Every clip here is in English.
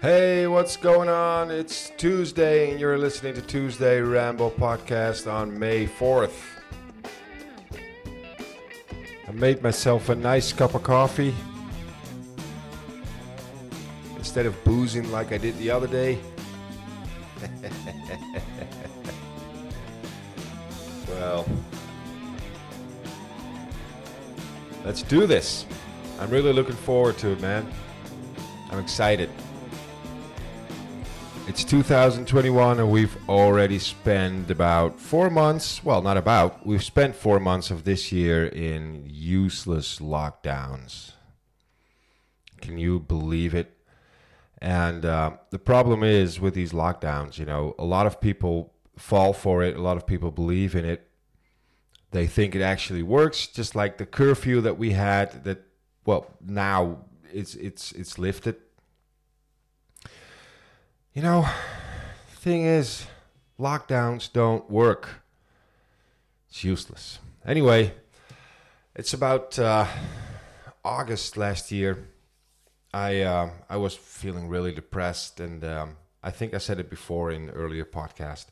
Hey, what's going on? It's Tuesday, and you're listening to Tuesday Ramble Podcast on May 4th. I made myself a nice cup of coffee instead of boozing like I did the other day. Well, let's do this. I'm really looking forward to it, man. I'm excited. It's 2021 and we've already spent about 4 months, well, not about, we've spent 4 months of this year in useless lockdowns. Can you believe it? And the problem is with these lockdowns, a lot of people fall for it, a lot of people believe in it. They think it actually works, just like the curfew that we had that, well, now it's lifted. Thing is, lockdowns don't work. It's useless. Anyway, it's about August last year. I was feeling really depressed, and I think I said it before in an earlier podcast.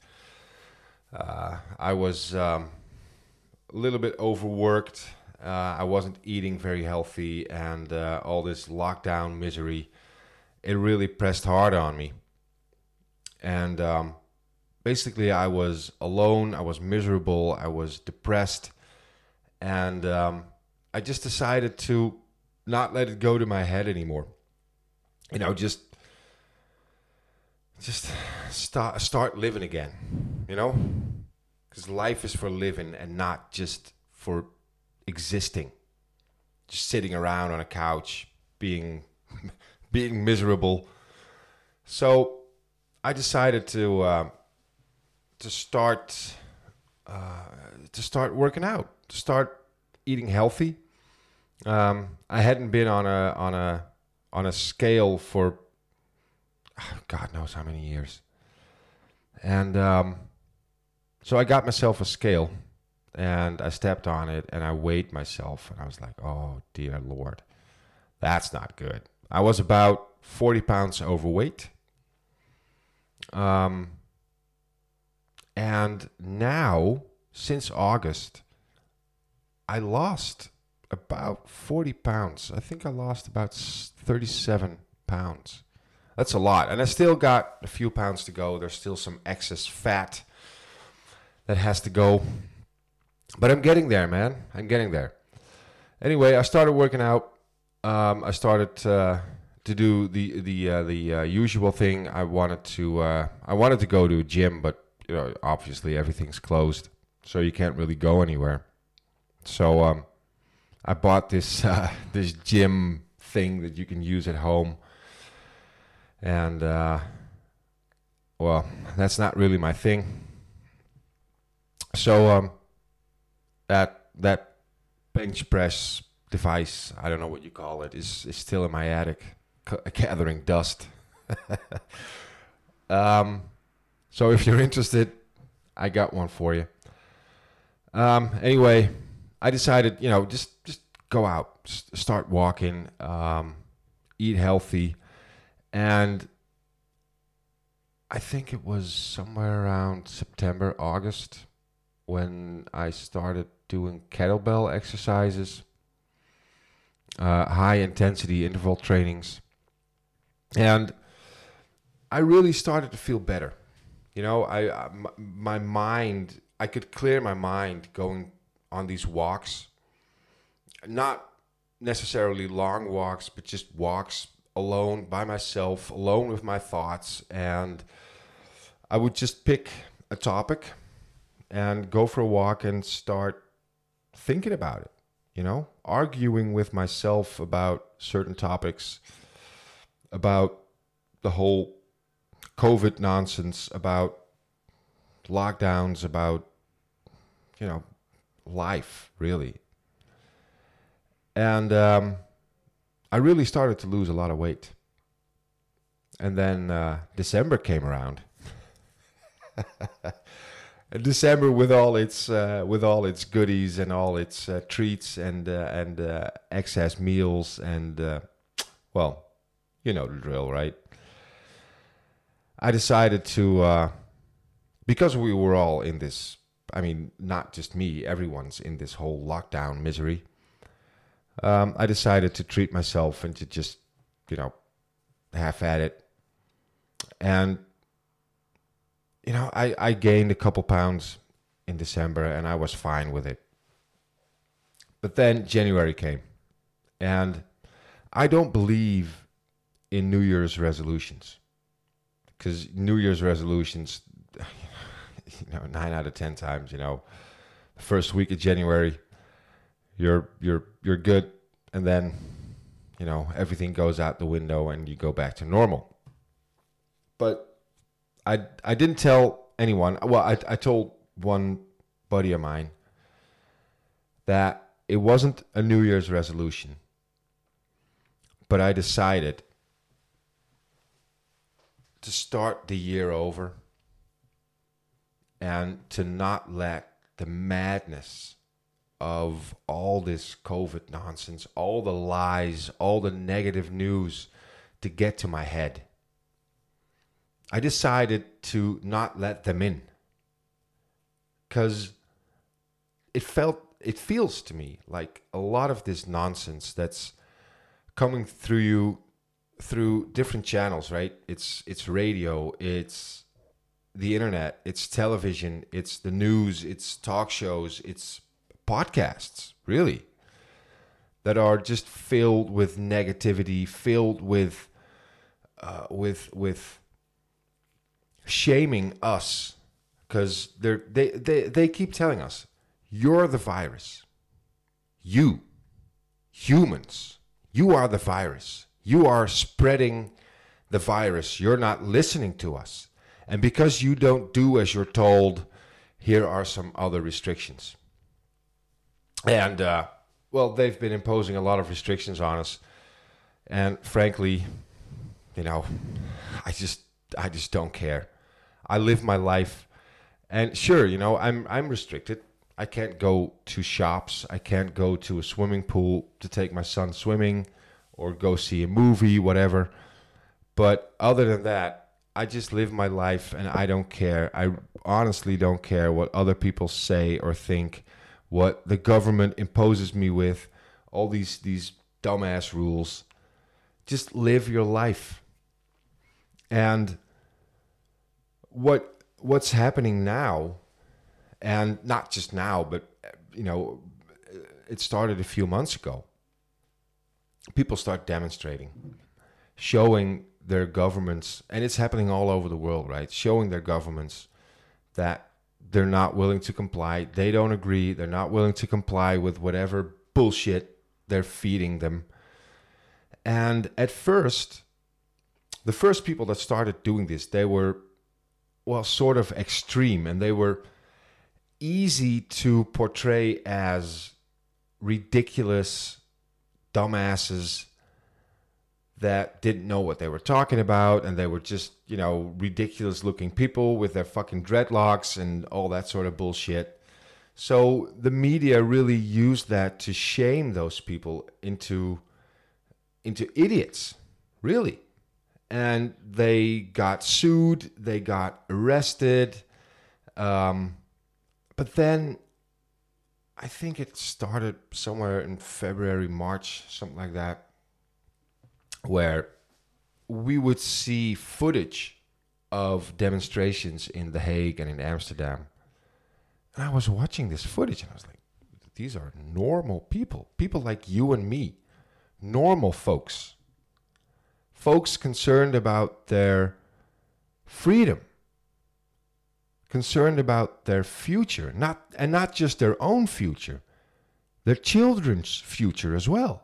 I was a little bit overworked. I wasn't eating very healthy, and all this lockdown misery, it really pressed hard on me. And basically, I was alone, I was miserable, I was depressed, and I just decided to not let it go to my head anymore. Just start living again, because life is for living and not just for existing, just sitting around on a couch, being miserable. So I decided to start working out, to start eating healthy. I hadn't been on a scale for God knows how many years, and so I got myself a scale, and I stepped on it, and I weighed myself, and I was like, "Oh dear Lord, that's not good." I was about 40 pounds overweight. And now, since August, I lost about 40 pounds. I think I lost about 37 pounds. That's a lot. And I still got a few pounds to go. There's still some excess fat that has to go. But I'm getting there, man. I'm getting there. Anyway, I started working out. I started to do the usual thing. I wanted to go to a gym, but obviously everything's closed, so you can't really go anywhere. So I bought this this gym thing that you can use at home, and well, that's not really my thing. So that bench press device, I don't know what you call it, is still in my attic, gathering dust. So if you're interested, I got one for you. Anyway, I decided, just go out, start walking, eat healthy, and I think it was somewhere around September, August, when I started doing kettlebell exercises, high intensity interval trainings. And I really started to feel better. My mind, I could clear my mind going on these walks. Not necessarily long walks, but just walks alone by myself, alone with my thoughts. And I would just pick a topic and go for a walk and start thinking about it, arguing with myself about certain topics, about the whole COVID nonsense, about lockdowns, about, life, really. And I really started to lose a lot of weight. And then December came around. December with all its goodies and all its treats and excess meals and well, you know the drill, right? I decided to, because we were all in this, I mean, not just me, everyone's in this whole lockdown misery. I decided to treat myself and to just, half at it. And, I gained a couple pounds in December and I was fine with it. But then January came and I don't believe in New Year's resolutions because New Year's resolutions, 9 out of 10 times, the first week of January, you're good. And then, everything goes out the window and you go back to normal. But I didn't tell anyone. Well, I told one buddy of mine that it wasn't a New Year's resolution, but I decided to start the year over and to not let the madness of all this COVID nonsense, all the lies, all the negative news to get to my head. I decided to not let them in because it feels to me like a lot of this nonsense that's coming through you through different channels, right? It's radio, it's the internet, it's television, it's the news, it's talk shows, it's podcasts, really, that are just filled with negativity, filled with shaming us, because they keep telling us, you're the virus. You, humans, you are the virus. You are spreading the virus. You're not listening to us. And because you don't do as you're told, here are some other restrictions. And, they've been imposing a lot of restrictions on us. And frankly, I just don't care. I live my life. And sure, I'm restricted. I can't go to shops. I can't go to a swimming pool to take my son swimming or go see a movie, whatever. But other than that, I just live my life and I don't care. I honestly don't care what other people say or think, what the government imposes me with, all these dumbass rules. Just live your life. And what's happening now, and not just now, but it started a few months ago. People start demonstrating, showing their governments, and it's happening all over the world, right? Showing their governments that they're not willing to comply. They don't agree. They're not willing to comply with whatever bullshit they're feeding them. And at first, the first people that started doing this, they were, sort of extreme, and they were easy to portray as ridiculous dumbasses that didn't know what they were talking about, and they were just, ridiculous looking people with their fucking dreadlocks and all that sort of bullshit. So the media really used that to shame those people into idiots, really. And they got sued, they got arrested. But then I think it started somewhere in February, March, something like that, where we would see footage of demonstrations in The Hague and in Amsterdam. And I was watching this footage and I was like, these are normal people like you and me, normal folks concerned about their freedom, concerned about their future, not just their own future, their children's future as well.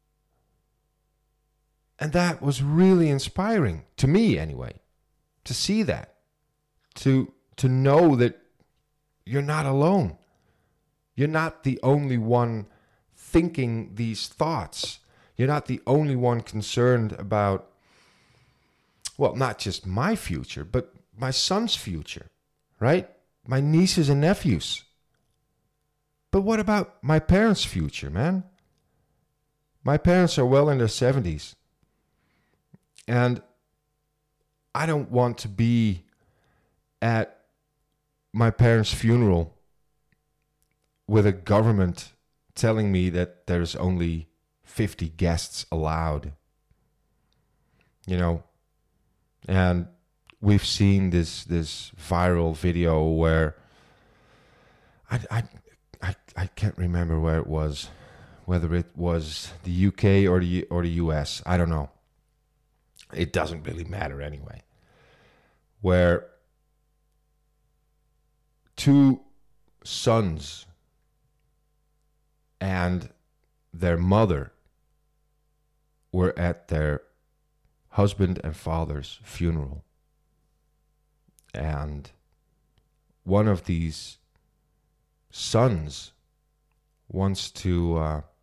And that was really inspiring to me anyway, to see that, to know that you're not alone. You're not the only one thinking these thoughts. You're not the only one concerned about, not just my future, but my son's future, right? My nieces and nephews. But what about my parents' future, man? My parents are well in their 70s. And I don't want to be at my parents' funeral with a government telling me that there's only 50 guests allowed. You know, and we've seen this viral video where I can't remember where it was, whether it was the UK or the US. I don't know. It doesn't really matter anyway. Where two sons and their mother were at their husband and father's funeral. And one of these sons wants to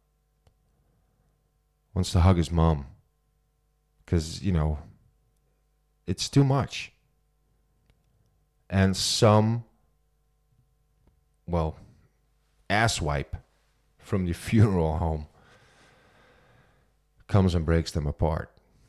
hug his mom because, you know, it's too much. And some, well, asswipe from the funeral home comes and breaks them apart.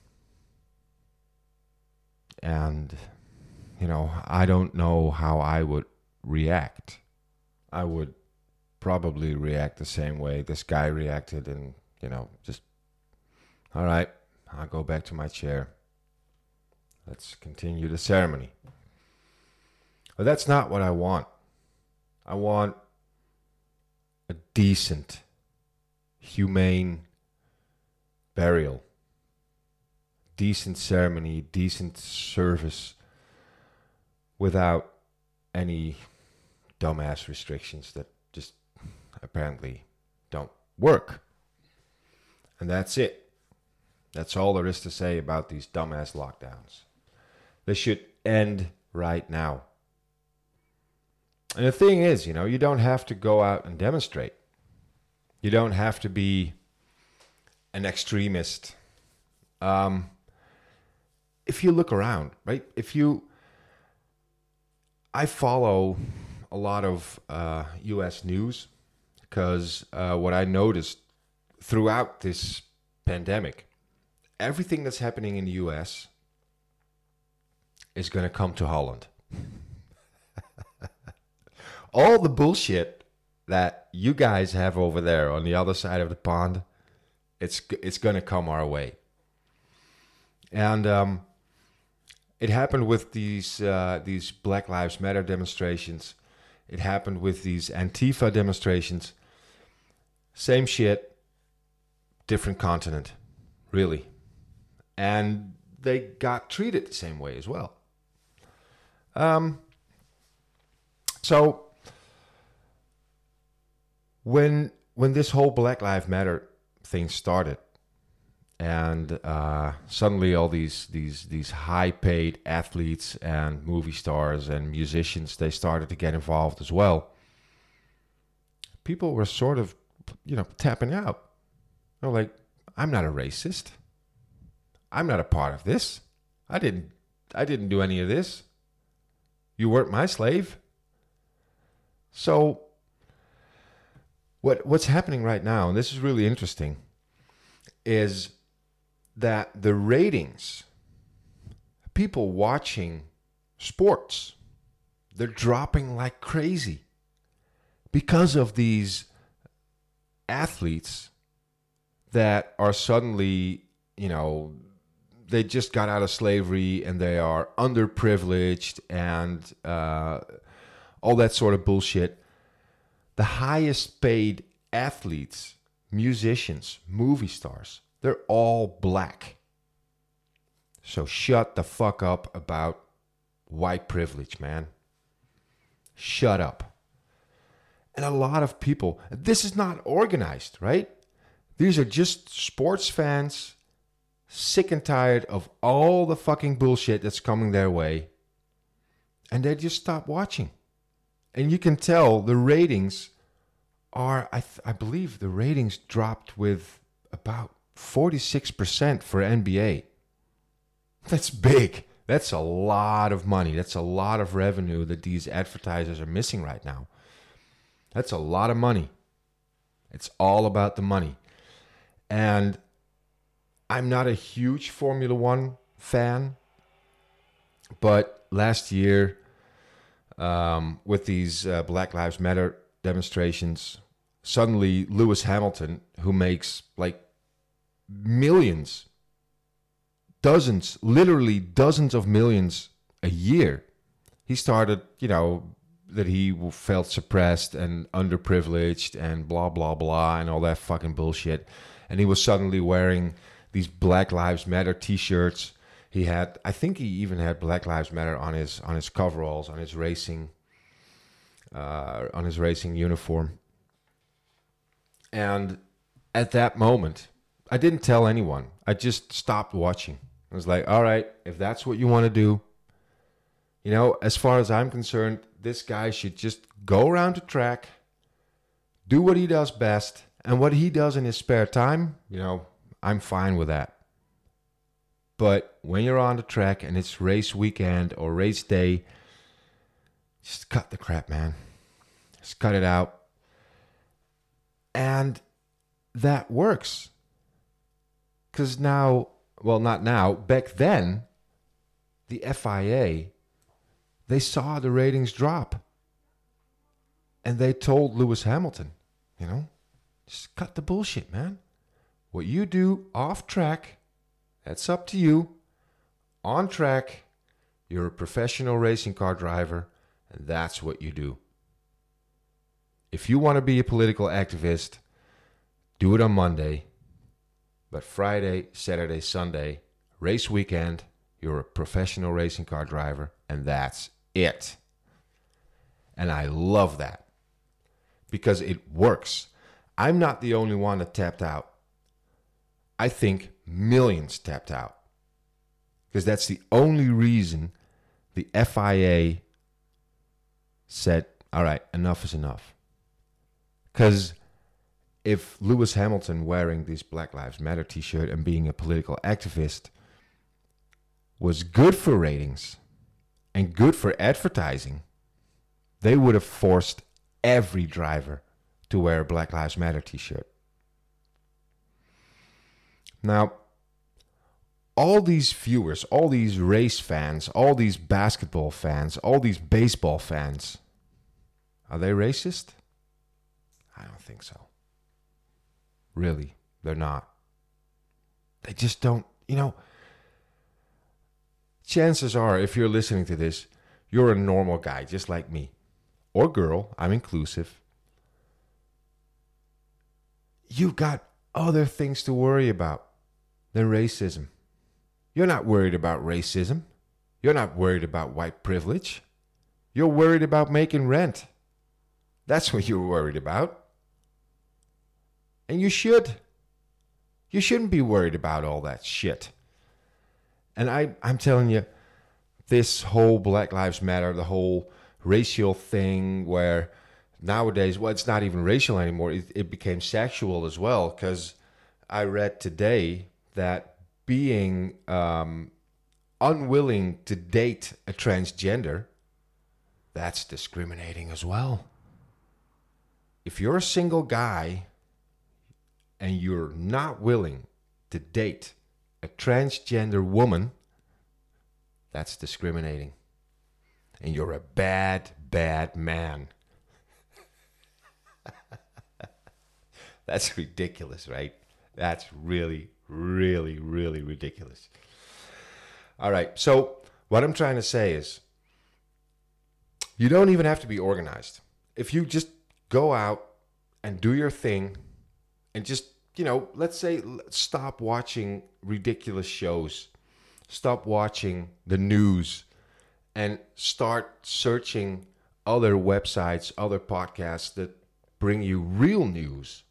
And, you know, I don't know how I would react. I would probably react the same way this guy reacted and, you know, just, all right, I'll go back to my chair. Let's continue the ceremony. But that's not what I want. I want a decent, humane burial. Decent ceremony, decent service without any dumbass restrictions that just apparently don't work. And that's it. That's all there is to say about these dumbass lockdowns. They should end right now. And the thing is, you know, you don't have to go out and demonstrate. You don't have to be an extremist. If you look around, right? I follow a lot of U.S. news because what I noticed throughout this pandemic, everything that's happening in the U.S. is going to come to Holland. All the bullshit that you guys have over there on the other side of the pond, it's going to come our way. And it happened with these Black Lives Matter demonstrations. It happened with these Antifa demonstrations. Same shit, different continent, really. And they got treated the same way as well. So when this whole Black Lives Matter thing started, and suddenly all these high-paid athletes and movie stars and musicians, they started to get involved as well. People were sort of, you know, tapping out. They're like, I'm not a racist. I'm not a part of this. I didn't do any of this. You weren't my slave. So what's happening right now, and this is really interesting, is that the ratings, people watching sports, they're dropping like crazy because of these athletes that are suddenly, you know, they just got out of slavery and they are underprivileged and all that sort of bullshit. The highest paid athletes, musicians, movie stars, they're all black. So shut the fuck up about white privilege, man. Shut up. And a lot of people, this is not organized, right? These are just sports fans, sick and tired of all the fucking bullshit that's coming their way. And they just stop watching. And you can tell the ratings are, I believe the ratings dropped with about 46% for NBA. That's big. That's a lot of money. That's a lot of revenue that these advertisers are missing right now. That's a lot of money. It's all about the money. And I'm not a huge Formula One fan, But last year, with these Black Lives Matter demonstrations, suddenly Lewis Hamilton, who makes like millions, dozens, literally dozens of millions a year, he started, that he felt suppressed and underprivileged and blah, blah, blah, and all that fucking bullshit. And he was suddenly wearing these Black Lives Matter t-shirts. I think he even had Black Lives Matter on his coveralls, on his racing uniform. And at that moment, I didn't tell anyone. I just stopped watching. I was like, all right, if that's what you want to do, as far as I'm concerned, this guy should just go around the track, do what he does best, and what he does in his spare time, I'm fine with that. But when you're on the track and it's race weekend or race day, just cut the crap, man. Just cut it out. And that works. Because now, well, not now, back then, the FIA, they saw the ratings drop. And they told Lewis Hamilton, just cut the bullshit, man. What you do off track, that's up to you. On track, you're a professional racing car driver, and that's what you do. If you want to be a political activist, do it on Monday. But Friday, Saturday, Sunday, race weekend, you're a professional racing car driver, and that's it. And I love that because it works. I'm not the only one that tapped out. I think millions tapped out because that's the only reason the FIA said, all right, enough is enough. Because if Lewis Hamilton wearing this Black Lives Matter t-shirt and being a political activist was good for ratings and good for advertising, they would have forced every driver to wear a Black Lives Matter t-shirt. Now, all these viewers, all these race fans, all these basketball fans, all these baseball fans, are they racist? I don't think so. Really, they're not. They just don't, chances are, if you're listening to this, you're a normal guy, just like me. Or girl, I'm inclusive. You've got other things to worry about than racism. You're not worried about racism. You're not worried about white privilege. You're worried about making rent. That's what you're worried about. And you should. You shouldn't be worried about all that shit. And I'm telling you, this whole Black Lives Matter, the whole racial thing where nowadays, well, it's not even racial anymore. It became sexual as well, because I read today that being unwilling to date a transgender, that's discriminating as well. If you're a single guy and you're not willing to date a transgender woman, that's discriminating. And you're a bad, bad man. That's ridiculous, right? That's really, really, really ridiculous. All right, so what I'm trying to say is you don't even have to be organized. If you just go out and do your thing and just, let's say stop watching ridiculous shows, stop watching the news, and start searching other websites, other podcasts that bring you real news.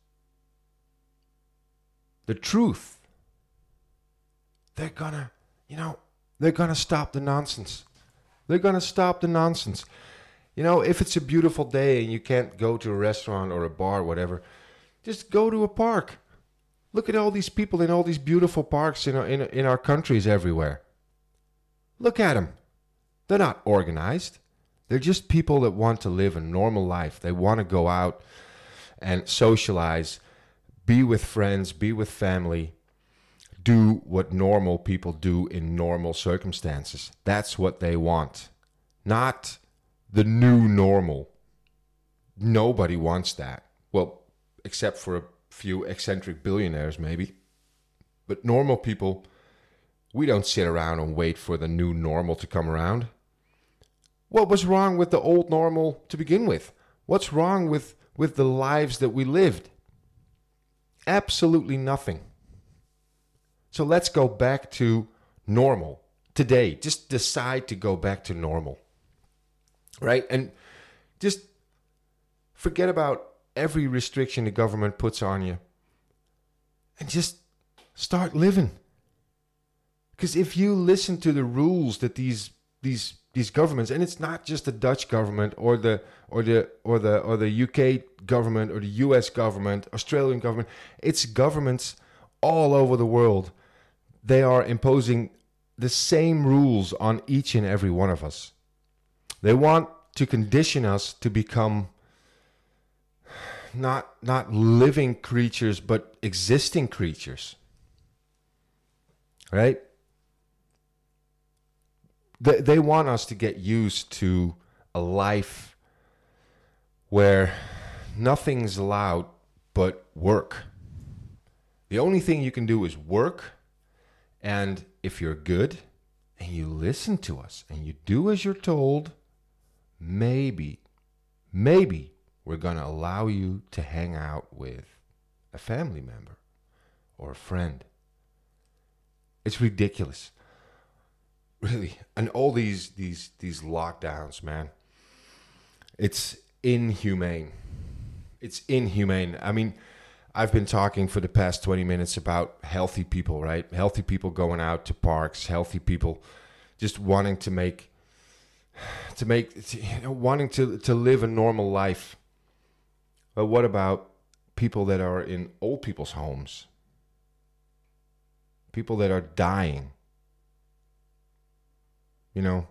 The truth. They're gonna stop the nonsense. They're gonna stop the nonsense. If it's a beautiful day and you can't go to a restaurant or a bar, whatever, just go to a park. Look at all these people in all these beautiful parks in our countries everywhere. Look at them. They're not organized. They're just people that want to live a normal life. They want to go out and socialize, be with friends, be with family, do what normal people do in normal circumstances. That's what they want. Not the new normal. Nobody wants that. Well, except for a few eccentric billionaires, maybe. But normal people, we don't sit around and wait for the new normal to come around. What was wrong with the old normal to begin with? What's wrong with the lives that we lived? Absolutely nothing. So let's go back to normal today. Just decide to go back to normal. Right? And just forget about every restriction the government puts on you. And just start living. Because if you listen to the rules that these governments, and it's not just the Dutch government or the UK government or the US government, Australian government, it's governments all over the world. They are imposing the same rules on each and every one of us. They want to condition us to become not living creatures, but existing creatures. Right? They want us to get used to a life where nothing's allowed but work. The only thing you can do is work, and if you're good and you listen to us and you do as you're told, maybe we're going to allow you to hang out with a family member or a friend. It's ridiculous. Really. And all these lockdowns, man. It's inhumane. It's inhumane. I mean, I've been talking for the past 20 minutes about healthy people, right? Healthy people going out to parks, healthy people just wanting wanting to live a normal life. But what about people that are in old people's homes? People that are dying. You know,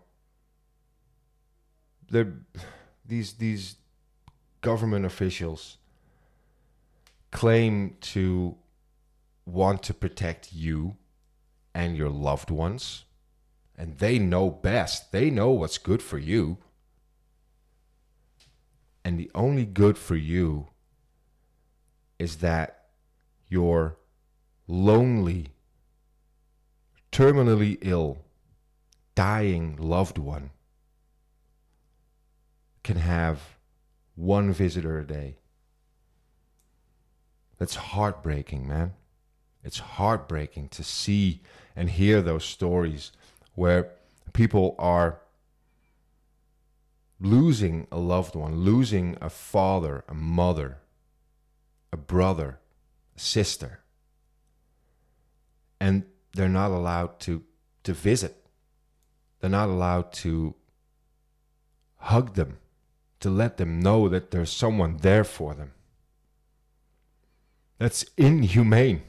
these government officials claim to want to protect you and your loved ones, and they know best. They know what's good for you. And the only good for you is that your lonely, terminally ill, dying loved one can have one visitor a day. That's heartbreaking, man. It's heartbreaking to see and hear those stories where people are losing a loved one, losing a father, a mother, a brother, a sister, and they're not allowed to visit. They're not allowed to hug them, to let them know that there's someone there for them. That's inhumane.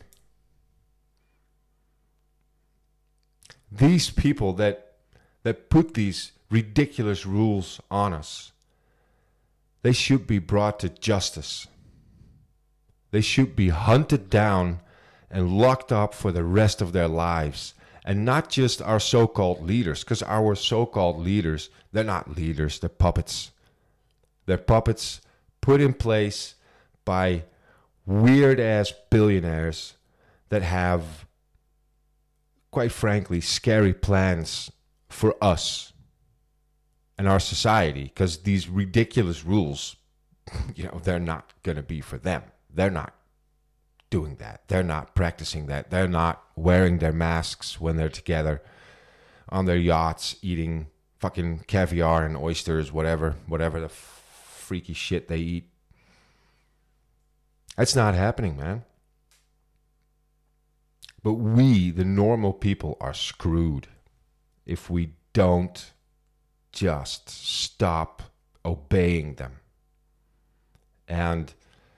These people that put these ridiculous rules on us, they should be brought to justice. They should be hunted down and locked up for the rest of their lives. And not just our so-called leaders, because our so-called leaders, they're not leaders, they're puppets. They're puppets put in place by weird-ass billionaires that have, quite frankly, scary plans for us and our society, because these ridiculous rules, they're not going to be for them. They're not doing that. They're not practicing that. They're not wearing their masks when they're together on their yachts eating fucking caviar and oysters, whatever the freaky shit they eat. That's not happening, man. But we, the normal people, are screwed if we don't just stop obeying them. And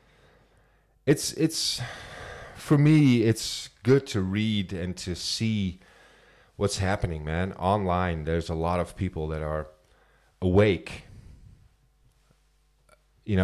it's for me, it's good to read and to see what's happening, man. Online, there's a lot of people that are awake.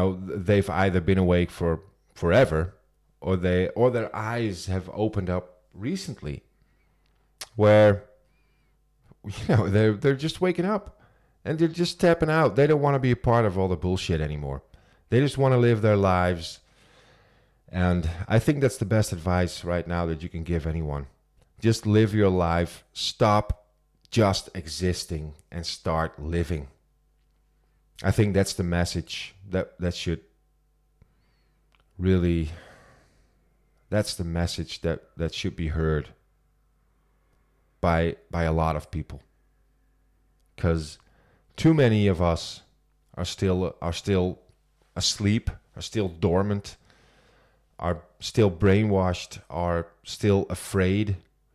They've either been awake for forever, or their eyes have opened up recently where, they're just waking up and they're just tapping out. They don't want to be a part of all the bullshit anymore. They just want to live their lives. And I think that's the best advice right now that you can give anyone. Just live your life. Stop just existing and start living. I think that's the message that should really, that's the message that should be heard by a lot of people. Because too many of us are still asleep, are still dormant, are still brainwashed, are still afraid.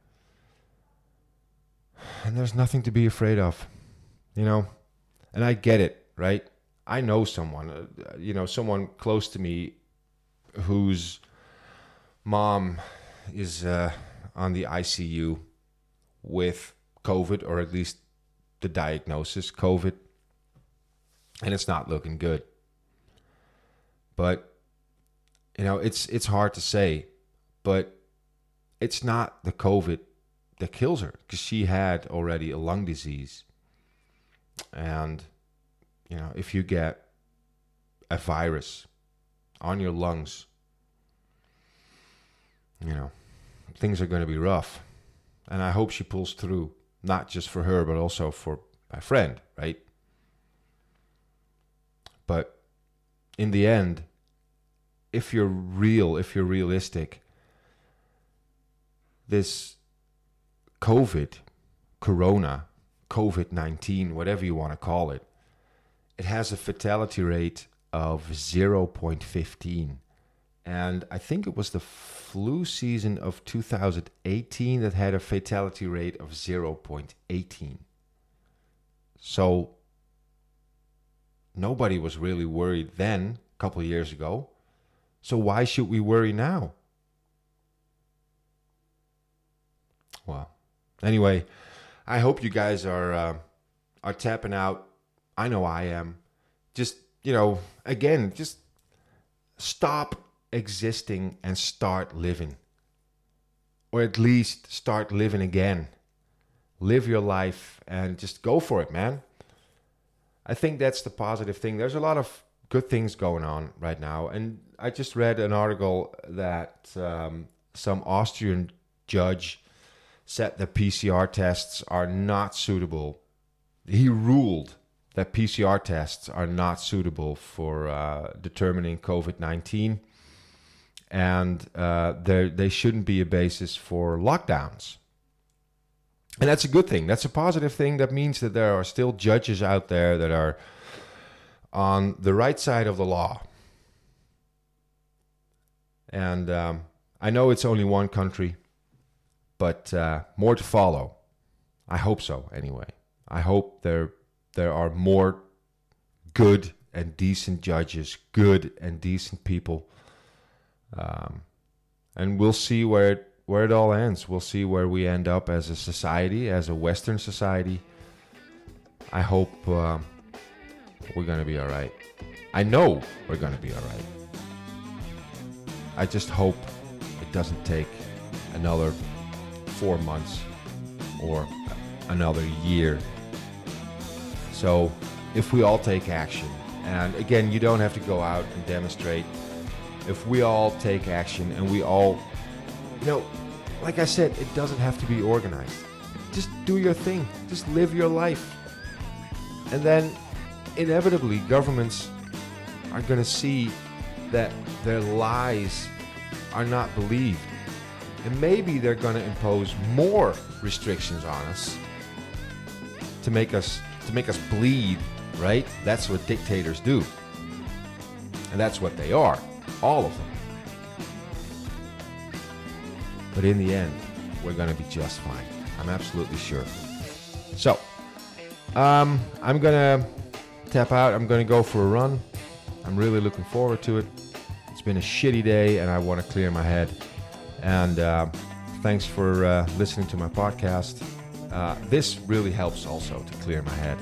And there's nothing to be afraid of, And I get it, right? I know someone, someone close to me whose mom is on the ICU with COVID, or at least the diagnosis, COVID. And it's not looking good. But, it's hard to say, but it's not the COVID that kills her, because she had already a lung disease. And, if you get a virus on your lungs, things are going to be rough. And I hope she pulls through, not just for her, but also for my friend, right? But in the end, if you're realistic, this COVID-19, whatever you want to call it, it has a fatality rate of 0.15. And I think it was the flu season of 2018 that had a fatality rate of 0.18. So nobody was really worried then, a couple of years ago. So why should we worry now? Well, anyway, I hope you guys are tapping out. I know I am. Just, again, just stop existing and start living. Or at least start living again. Live your life and just go for it, man. I think that's the positive thing. There's a lot of good things going on right now. And I just read an article that some Austrian judge said that PCR tests are not suitable. He ruled that PCR tests are not suitable for determining COVID-19. And they shouldn't be a basis for lockdowns. And that's a good thing. That's a positive thing. That means that there are still judges out there that are on the right side of the law. And I know it's only one country, but more to follow. I hope so, anyway. I hope there are more good and decent judges, good and decent people. And we'll see where it all ends. We'll see where we end up as a society, as a Western society. I hope we're going to be all right. I know we're going to be all right. I just hope it doesn't take another 4 months or another year. So if we all take action, and again, you don't have to go out and demonstrate. If we all take action and we all, like I said, it doesn't have to be organized. Just do your thing. Just live your life. And then inevitably governments are going to see that their lies are not believed. And maybe they're going to impose more restrictions on us to make us bleed, right? That's what dictators do. And that's what they are. All of them. But in the end, we're going to be just fine. I'm absolutely sure. So, I'm going to tap out. I'm going to go for a run. I'm really looking forward to it. It's been a shitty day, and I want to clear my head. And thanks for listening to my podcast. This really helps also to clear my head.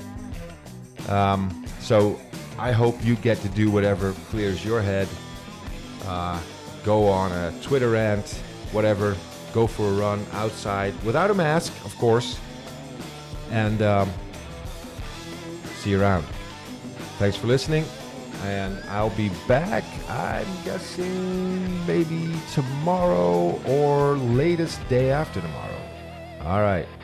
So I hope you get to do whatever clears your head. Go on a Twitter rant, whatever. go for a run outside without a mask, of course. And see you around. Thanks for listening. And I'll be back, I'm guessing, maybe tomorrow or latest day after tomorrow. All right.